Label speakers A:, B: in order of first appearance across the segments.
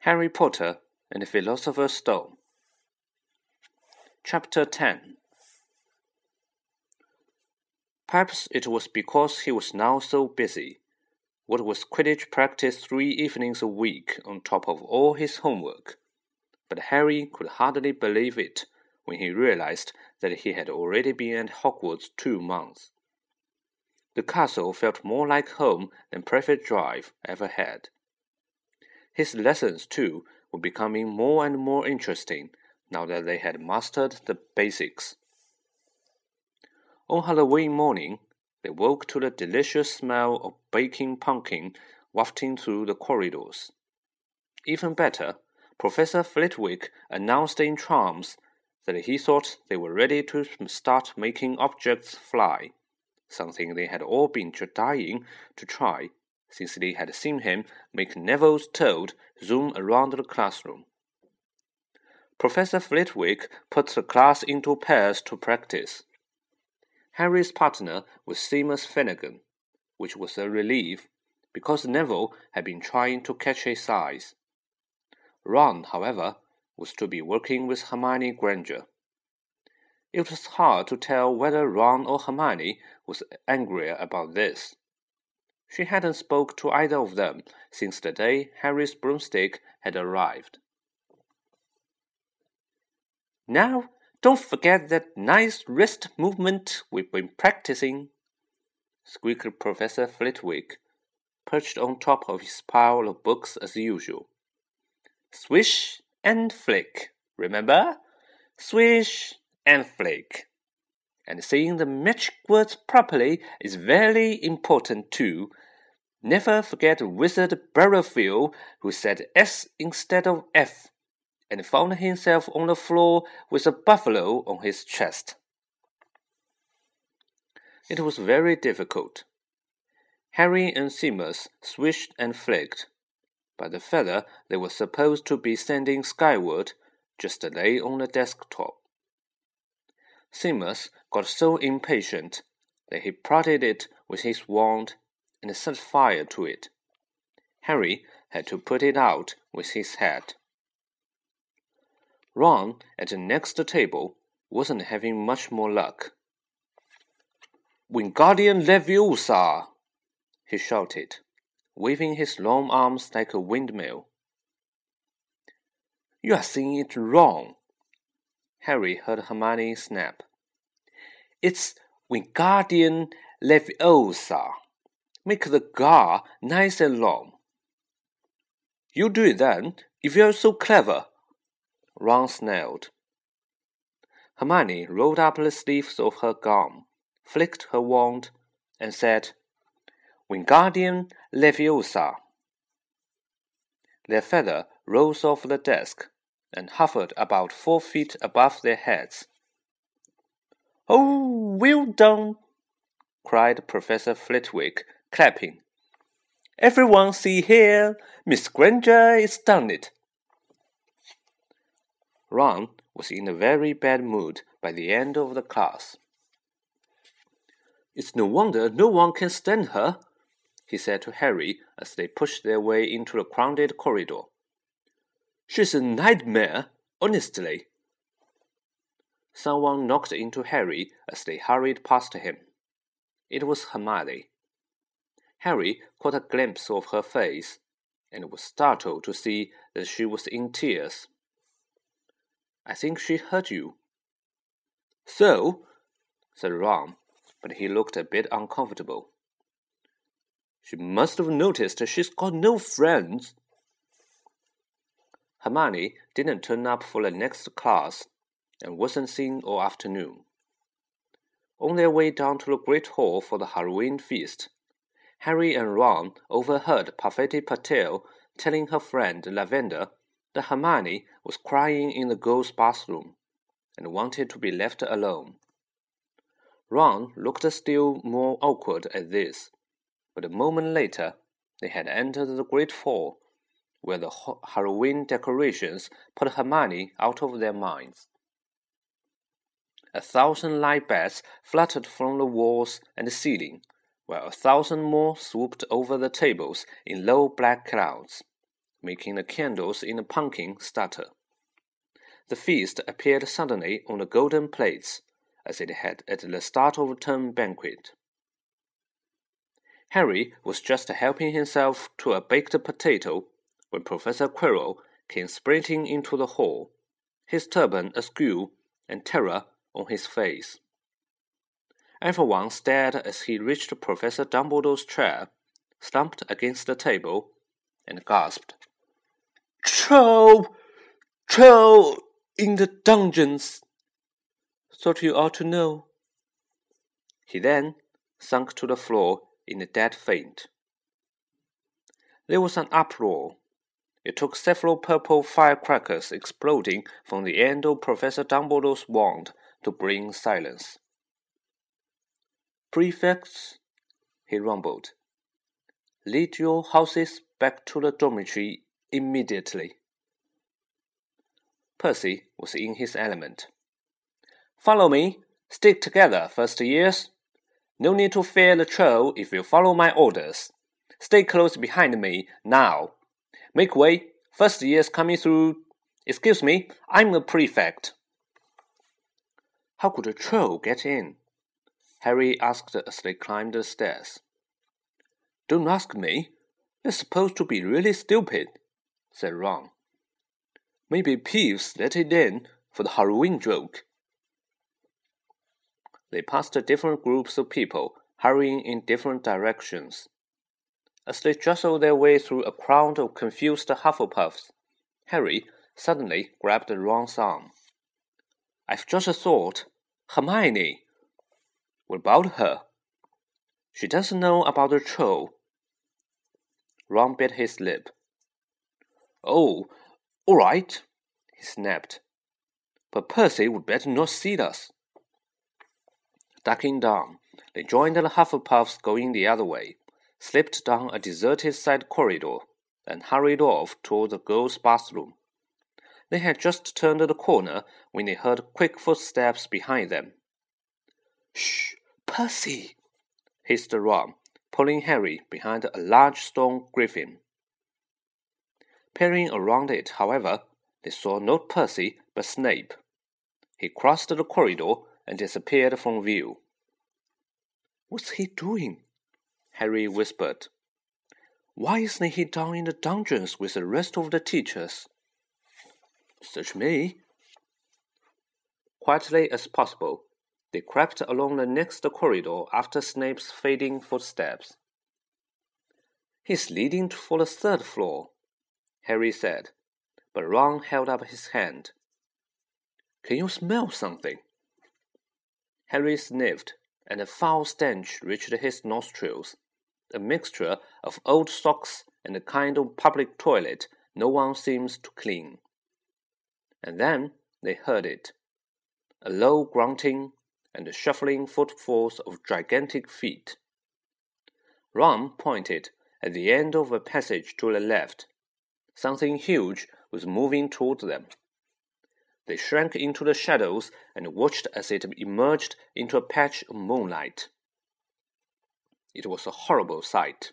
A: Harry Potter and the Philosopher's Stone. Chapter 10. Perhaps it was because he was now so busy, what with Quidditch practice 3 evenings a week on top of all his homework. But Harry could hardly believe it when he realized that he had already been at Hogwarts 2 months. The castle felt more like home than Privet Drive ever had. His lessons, too, were becoming more and more interesting now that they had mastered the basics. On Halloween morning, they woke to the delicious smell of baking pumpkin wafting through the corridors. Even better, Professor Flitwick announced in charms that he thought they were ready to start making objects fly, something they had all been dying to try since they had seen him make Neville's toad zoom around the classroom. Professor Flitwick put the class into pairs to practice. Harry's partner was Seamus Finnegan, which was a relief, because Neville had been trying to catch his eyes. Ron, however, was to be working with Hermione Granger. It was hard to tell whether Ron or Hermione was angrier about this. She hadn't spoke to either of them since the day Harry's broomstick had arrived. "Now, don't forget that nice wrist movement we've been practicing," squeaked Professor Flitwick, perched on top of his pile of books as usual. "Swish and flick, remember? Swish and flick. And saying the magic words properly is very important too. Never forget Wizard Barrowfield, who said S instead of F, and found himself on the floor with a buffalo on his chest." It was very difficult. Harry and Seamus swished and flicked, but the feather they were supposed to be sending skyward just lay on the desktop. Seamus got so impatient that he prodded it with his wand and set fire to it. Harry had to put it out with his head. Ron, at the next table, wasn't having much more luck. "Wingardium Leviosa!" he shouted, waving his long arms like a windmill. "You are saying it wrong," Harry heard Hermione snap. "It's Wingardium Leviosa. Make the gar nice and long." "You do it then, if you're so clever," Ron snarled. Hermione rolled up the sleeves of her gown, flicked her wand, and said, "Wingardium Leviosa." Their feather rose off the desk and hovered about 4 feet above their heads. "Oh, well done!" cried Professor Flitwick, clapping. "Everyone see here, Miss Granger is done it." Ron was in a very bad mood by the end of the class. "It's no wonder no one can stand her," he said to Harry as they pushed their way into the crowded corridor. "She's a nightmare, honestly." Someone knocked into Harry as they hurried past him. It was Hermione. Harry caught a glimpse of her face, and was startled to see that she was in tears. "I think she hurt you." "So?" said Ron, but he looked a bit uncomfortable. "She must have noticed she's got no friends." Hermione didn't turn up for the next class, and wasn't seen all afternoon. On their way down to the Great Hall for the Halloween feast, Harry and Ron overheard Parvati Patel telling her friend Lavender that Hermione was crying in the girls' bathroom, and wanted to be left alone. Ron looked still more awkward at this, but a moment later they had entered the Great Hall, where the Halloween decorations put Hermione out of their minds. 1,000 light bats fluttered from the walls and the ceiling, while 1,000 more swooped over the tables in low black clouds, making the candles in the pumpkin stutter. The feast appeared suddenly on the golden plates, as it had at the start of the term banquet. Harry was just helping himself to a baked potato when Professor Quirrell came sprinting into the hall, his turban askew and terror on his face. Everyone stared as he reached Professor Dumbledore's chair, slumped against the table, and gasped, "Troll! Troll in the dungeons! Thought you ought to know." He then sunk to the floor in a dead faint. There was an uproar. It took several purple firecrackers exploding from the end of Professor Dumbledore's wand to bring silence. "Prefects," he rumbled, "lead your houses back to the dormitory immediately." Percy was in his element. "Follow me. Stick together, first years. No need to fear the troll if you follow my orders. Stay close behind me, now. Make way, first years coming through. Excuse me, I'm the prefect." "How could a troll get in?" Harry asked as they climbed the stairs. "Don't ask me. They're supposed to be really stupid," said Ron. "Maybe Peeves let it in for the Halloween joke." They passed different groups of people hurrying in different directions. As they jostled their way through a crowd of confused Hufflepuffs, Harry suddenly grabbed Ron's arm. "I've just a thought. Hermione." "What about her?" "She doesn't know about the troll." Ron bit his lip. "Oh, all right," he snapped. "But Percy would better not see us." Ducking down, they joined the Hufflepuffs going the other way, slipped down a deserted side corridor, and hurried off toward the girls' bathroom. They had just turned the corner when they heard quick footsteps behind them. "Shh, Percy!" hissed Ron, pulling Harry behind a large stone griffin. Peering around it, however, they saw not Percy but Snape. He crossed the corridor and disappeared from view. "What's he doing?" Harry whispered. "Why isn't he down in the dungeons with the rest of the teachers?" "Search me." Quietly as possible, they crept along the next corridor after Snape's fading footsteps. "He's leading for the third floor," Harry said, but Ron held up his hand. "Can you smell something?" Harry sniffed, and a foul stench reached his nostrils, a mixture of old socks and the kind of public toilet no one seems to clean. And then they heard it, a low grunting and the shuffling footfalls of gigantic feet. Ron pointed at the end of a passage to the left. Something huge was moving toward them. They shrank into the shadows and watched as it emerged into a patch of moonlight. It was a horrible sight.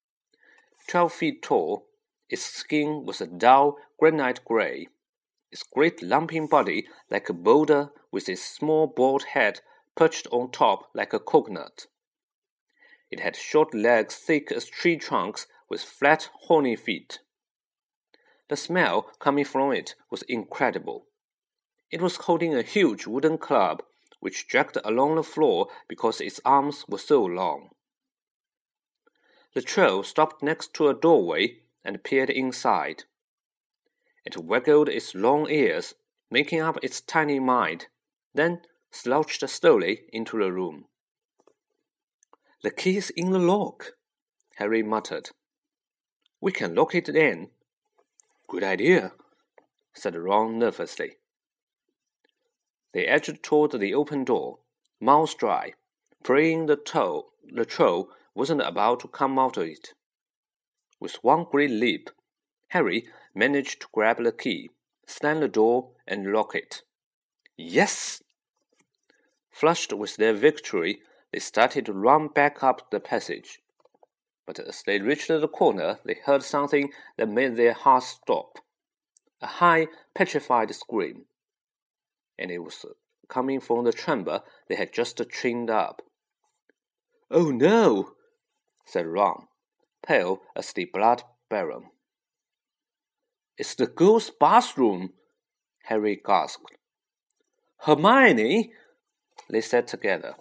A: 12 feet tall, its skin was a dull granite gray, its great lumping body like a boulder with its small bald head perched on top like a coconut. It had short legs thick as tree trunks with flat, horny feet. The smell coming from it was incredible. It was holding a huge wooden club, which dragged along the floor because its arms were so long. The troll stopped next to a doorway and peered inside. It waggled its long ears, making up its tiny mind, then slouched slowly into the room. "The key's in the lock," Harry muttered. "We can lock it in." "Good idea," said Ron nervously. They edged toward the open door, mouths dry, praying the troll wasn't about to come out of it. With one great leap, Harry managed to grab the key, slam the door, and lock it. Yes! Flushed with their victory, they started to run back up the passage. but as they reached the corner, they heard something that made their hearts stop. A high, petrified scream. And it was coming from the chamber they had just chained up. "Oh no!" said Ron, pale as the blood baron. "It's the girls' bathroom," Harry gasped. "Hermione!" they said together.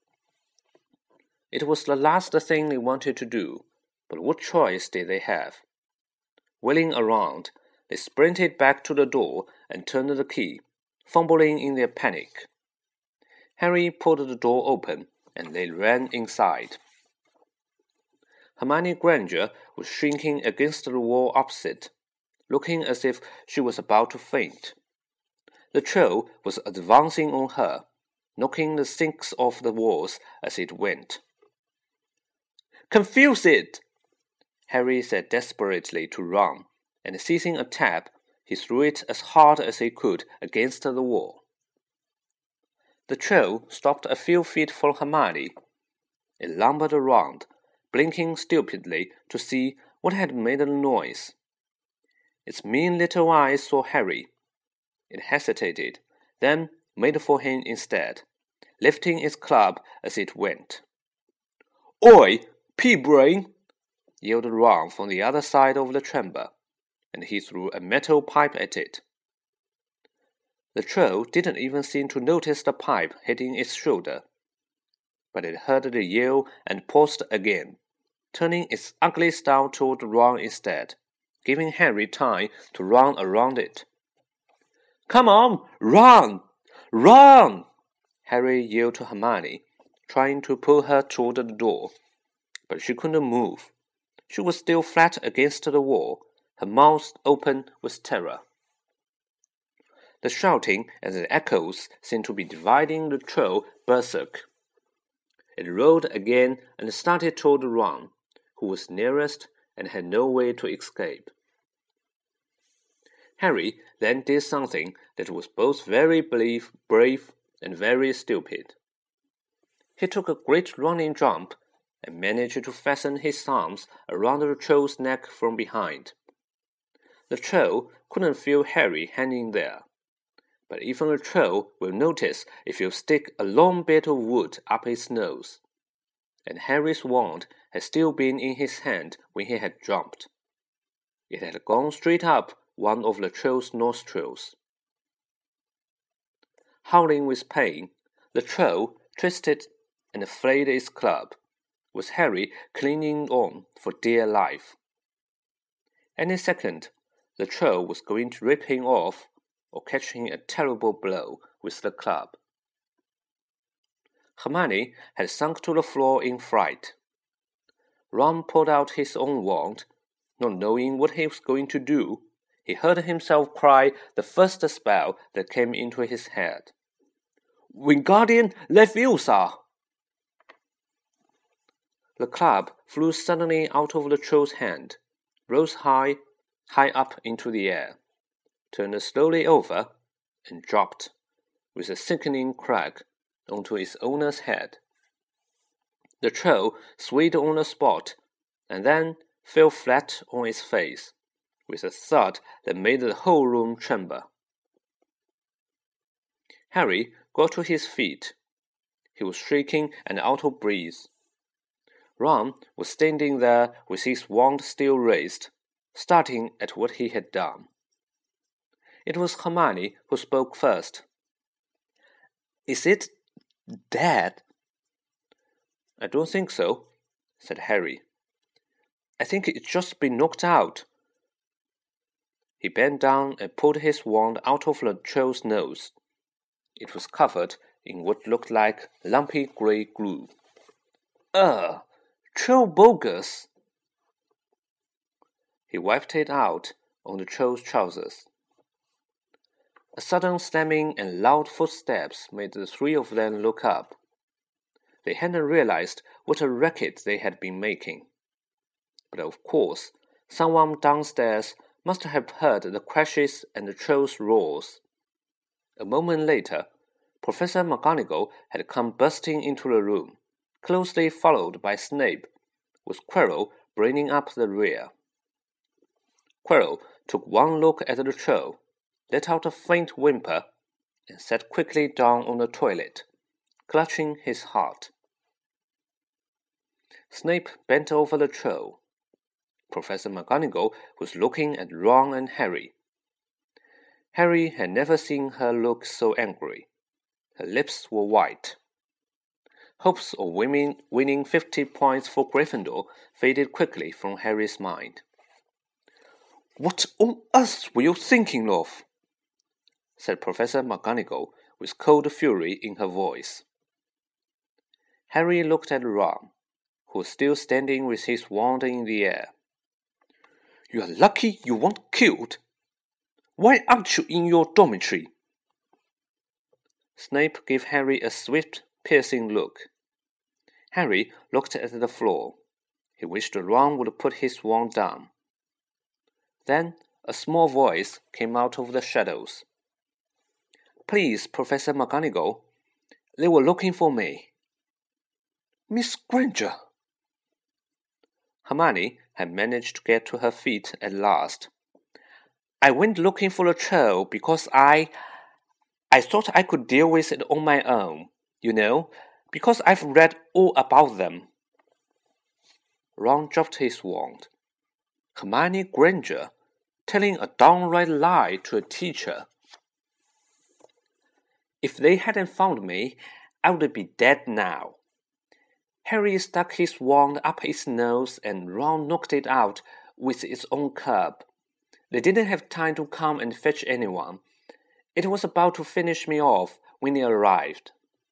A: It was the last thing they wanted to do, but what choice did they have? Wheeling around, they sprinted back to the door and turned the key, fumbling in their panic. Harry pulled the door open, and they ran inside. Hermione Granger was shrinking against the wall opposite, looking as if she was about to faint. The troll was advancing on her, knocking the sinks off the walls as it went. "Confuse it!" Harry said desperately to Ron, and seizing a tap, he threw it as hard as he could against the wall. The troll stopped a few feet from Hermione. It lumbered around, blinking stupidly to see what had made the noise. Its mean little eyes saw Harry. It hesitated, then made for him instead, lifting its club as it went. "Oi, pea-brain!" yelled Ron from the other side of the chamber, and he threw a metal pipe at it. The troll didn't even seem to notice the pipe hitting its shoulder, but it heard the yell and paused again, turning its ugly snout toward Ron instead, giving Harry time to run around it. "Come on, run! Run!" Harry yelled to Hermione, trying to pull her toward the door, but she couldn't move. She was still flat against the wall, her mouth open with terror. The shouting and the echoes seemed to be dividing the troll berserk. It rolled again and started toward Ron, who was nearest and had no way to escape. Harry then did something that was both very brave and very stupid. He took a great running jump and managed to fasten his arms around the troll's neck from behind. The troll couldn't feel Harry hanging there, but even a troll will notice if you stick a long bit of wood up his nose, and Harry's wand had still been in his hand when he had jumped. It had gone straight up one of the troll's nostrils. Howling with pain, the troll twisted and flayed its club, with Harry clinging on for dear life. Any second, the troll was going to rip him off or catch him a terrible blow with the club. Hermione had sunk to the floor in fright. Ron pulled out his own wand. Not knowing what he was going to do, he heard himself cry the first spell that came into his head. "Wingardium Leviosa!" The club flew suddenly out of the troll's hand, rose high up into the air, turned slowly over, and dropped, with a sickening crack, onto its owner's head. The troll swayed on the spot, and then fell flat on its face, with a thud that made the whole room tremble. Harry got to his feet. He was shaking and out of breath. Ron was standing there with his wand still raised, starting at what he had done. It was Hermione who spoke first. "Is it dead?" "I don't think so," said Harry. "I think it's just been knocked out." He bent down and pulled his wand out of the troll's nose. It was covered in what looked like lumpy grey glue. "Ugh! Troll bogus!" He wiped it out on the troll's trousers. A sudden slamming and loud footsteps made the three of them look up. They hadn't realized what a racket they had been making. But of course, someone downstairs must have heard the crashes and the troll's roars. A moment later, Professor McGonagall had come bursting into the room, closely followed by Snape, with Quirrell bringing up the rear. Quirrell took one look at the troll, let out a faint whimper, and sat quickly down on the toilet, clutching his heart. Snape bent over the troll. Professor McGonagall was looking at Ron and Harry. Harry had never seen her look so angry. Her lips were white. Hopes of winning 50 points for Gryffindor faded quickly from Harry's mind. "What on earth were you thinking of?" said Professor McGonagall with cold fury in her voice. Harry looked at Ron, who was still standing with his wand in the air. "You are lucky you weren't killed. Why aren't you in your dormitory?" Snape gave Harry a swift, piercing look. Harry looked at the floor. He wished Ron would put his wand down. Then a small voice came out of the shadows. "Please, Professor McGonagall, they were looking for me." "Miss Granger!" Hermione had managed to get to her feet at last. "I went looking for a troll because I thought I could deal with it on my own, you know, because I've read all about them." Ron dropped his wand. Hermione Granger, telling a downright lie to a teacher. "If they hadn't found me, I would be dead now." Harry stuck his wand up his nose and Ron knocked it out with its own club. They didn't have time to come and fetch anyone. It was about to finish me off when they arrived.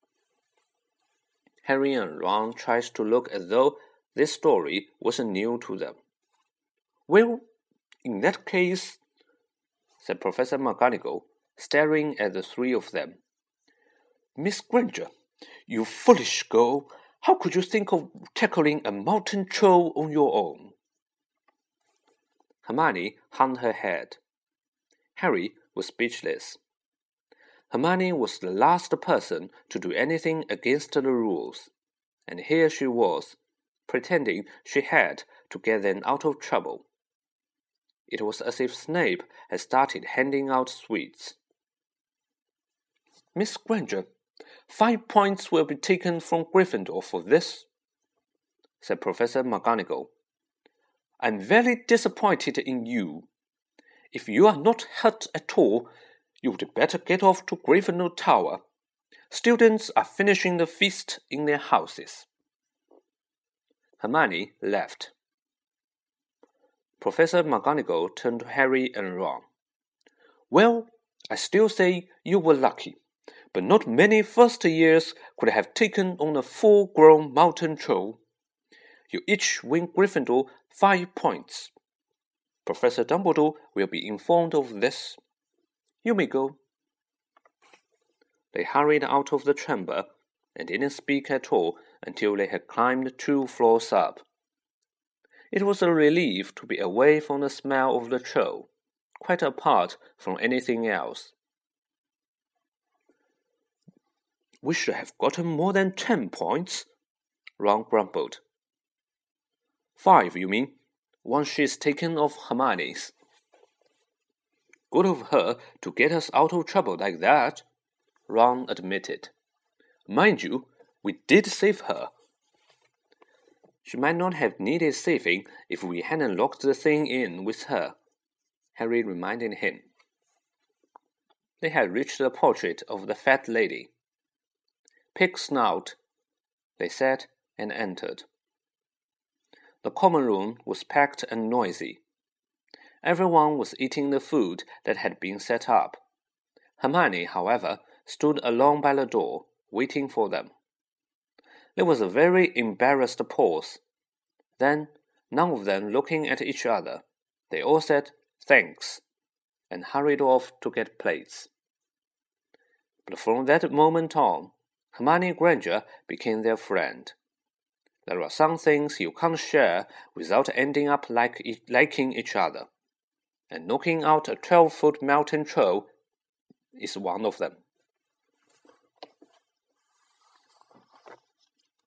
A: Harry and Ron tried to look as though this story wasn't new to them. "Well, in that case," said Professor McGonagall, staring at the three of them. "Miss Granger, you foolish girl, how could you think of tackling a mountain troll on your own?" Hermione hung her head. Harry was speechless. Hermione was the last person to do anything against the rules, and here she was, pretending she had to get them out of trouble. It was as if Snape had started handing out sweets. "Miss Granger, 5 points will be taken from Gryffindor for this," said Professor McGonagall. "I'm very disappointed in you. If you are not hurt at all, you would better get off to Gryffindor Tower. Students are finishing the feast in their houses." Hermione left. Professor McGonagall turned to Harry and Ron. "Well, I still say you were lucky, but not many first years could have taken on a full-grown mountain troll. You each win Gryffindor 5 points. Professor Dumbledore will be informed of this. You may go." They hurried out of the chamber and didn't speak at all until they had climbed 2 floors up. It was a relief to be away from the smell of the troll, quite apart from anything else. "We should have gotten more than 10 points," Ron grumbled. 5, you mean, once she's taken off Hermione's. "Good of her to get us out of trouble like that," Ron admitted. "Mind you, we did save her." "She might not have needed saving if we hadn't locked the thing in with her," Harry reminded him. They had reached the portrait of the fat lady. "Pig snout," they said, and entered. The common room was packed and noisy. Everyone was eating the food that had been set up. Hermione, however, stood alone by the door, waiting for them. There was a very embarrassed pause. Then, none of them looking at each other, they all said thanks, and hurried off to get plates. But from that moment on, Hermione Granger became their friend. There are some things you can't share without ending up liking each other, and knocking out a 12-foot mountain troll is one of them.